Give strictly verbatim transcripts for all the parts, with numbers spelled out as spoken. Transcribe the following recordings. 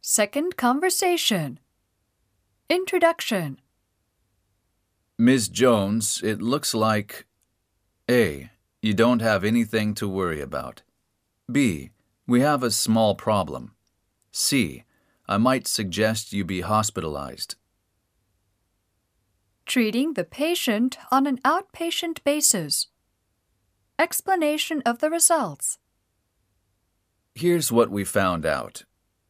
Second conversation. Introduction. Miz Jones, it looks like A. You don't have anything to worry about. B. We have a small problem. C. I might suggest you be hospitalized. Treating the patient on an outpatient basis. Explanation of the results. Here's what we found out.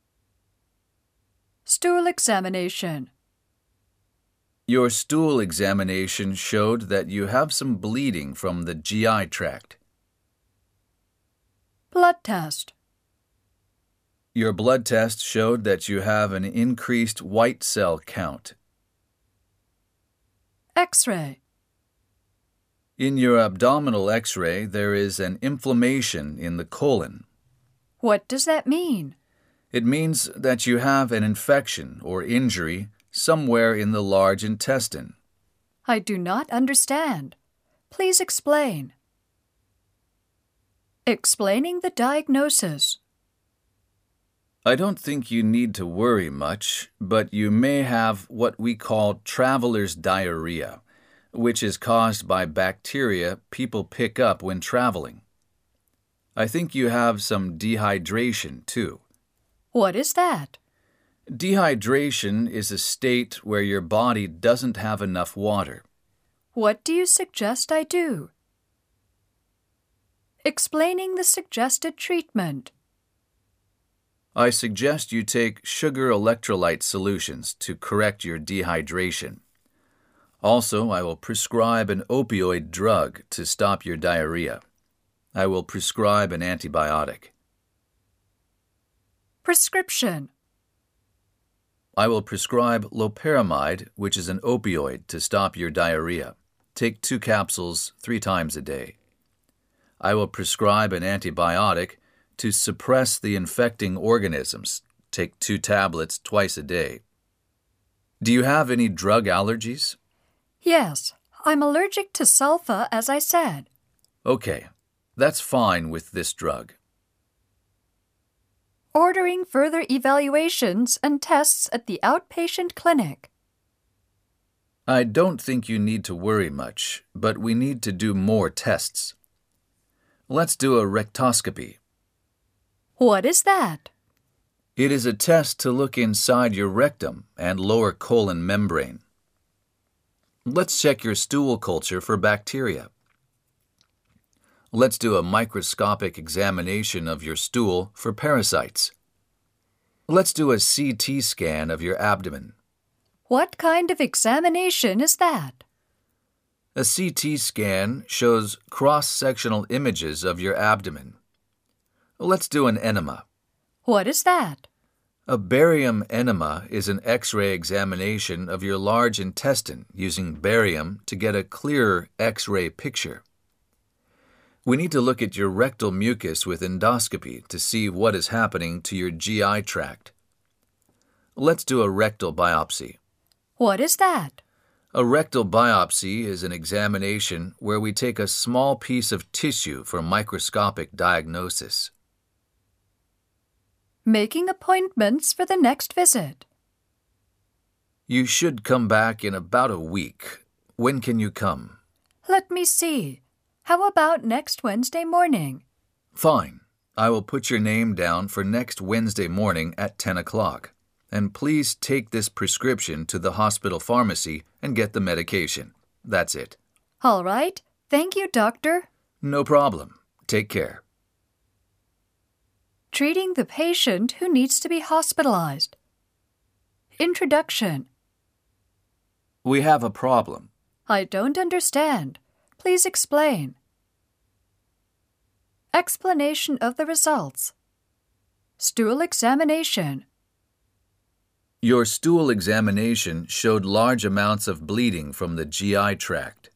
Stool examination. Your stool examination showed that you have some bleeding from the G I tract. Blood test. Your blood test showed that you have an increased white cell count. X-ray. In your abdominal X-ray, there is an inflammation in the colon. What does that mean? It means that you have an infection or injury somewhere in the large intestine. I do not understand. Please explain. Explaining the diagnosis. I don't think you need to worry much, but you may have what we call traveler's diarrhea, which is caused by bacteria people pick up when traveling. I think you have some dehydration, too. What is that? Dehydration is a state where your body doesn't have enough water. What do you suggest I do? Explaining the suggested treatment. I suggest you take sugar electrolyte solutions to correct your dehydration. Also, I will prescribe an opioid drug to stop your diarrhea. I will prescribe an antibiotic. Prescription. I will prescribe loperamide, which is an opioid, to stop your diarrhea. Take two capsules three times a day. I will prescribe an antibiotic to suppress the infecting organisms. Take two tablets twice a day. Do you have any drug allergies? Yes, I'm allergic to sulfa, as I said. Okay, that's fine with this drug. Ordering further evaluations and tests at the outpatient clinic. I don't think you need to worry much, but we need to do more tests. Let's do a rectoscopy. What is that? It is a test to look inside your rectum and lower colon membrane. Let's check your stool culture for bacteria. Let's do a microscopic examination of your stool for parasites. Let's do a C T scan of your abdomen. What kind of examination is that? A C T scan shows cross-sectional images of your abdomen. Let's do an enema. What is that? A barium enema is an X-ray examination of your large intestine using barium to get a clearer X-ray picture. We need to look at your rectal mucus with endoscopy to see what is happening to your G I tract. Let's do a rectal biopsy. What is that? A rectal biopsy is an examination where we take a small piece of tissue for microscopic diagnosis. Making appointments for the next visit. You should come back in about a week. When can you come? Let me see. How about next Wednesday morning? Fine. I will put your name down for next Wednesday morning at ten o'clock. And please take this prescription to the hospital pharmacy and get the medication. That's it. All right. Thank you, doctor. No problem. Take care. Treating the patient who needs to be hospitalized. Introduction. We have a problem. I don't understand. Please explain. Explanation of the results. Stool examination. Your stool examination showed large amounts of bleeding from the G I tract.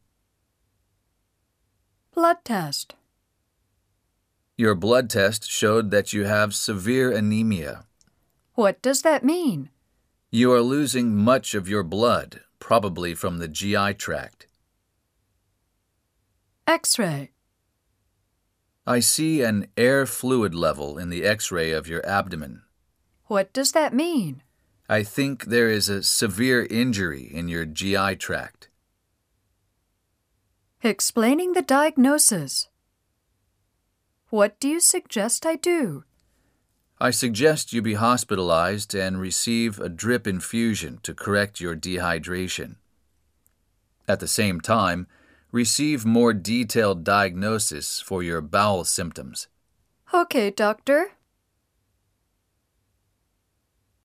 Blood test. Your blood test showed that you have severe anemia. What does that mean? You are losing much of your blood, probably from the G I tract. X-ray. I see an air fluid level in the X-ray of your abdomen. What does that mean? I think there is a severe injury in your G I tract. Explaining the diagnosis. What do you suggest I do? I suggest you be hospitalized and receive a drip infusion to correct your dehydration. At the same time, receive more detailed diagnosis for your bowel symptoms. Okay, doctor.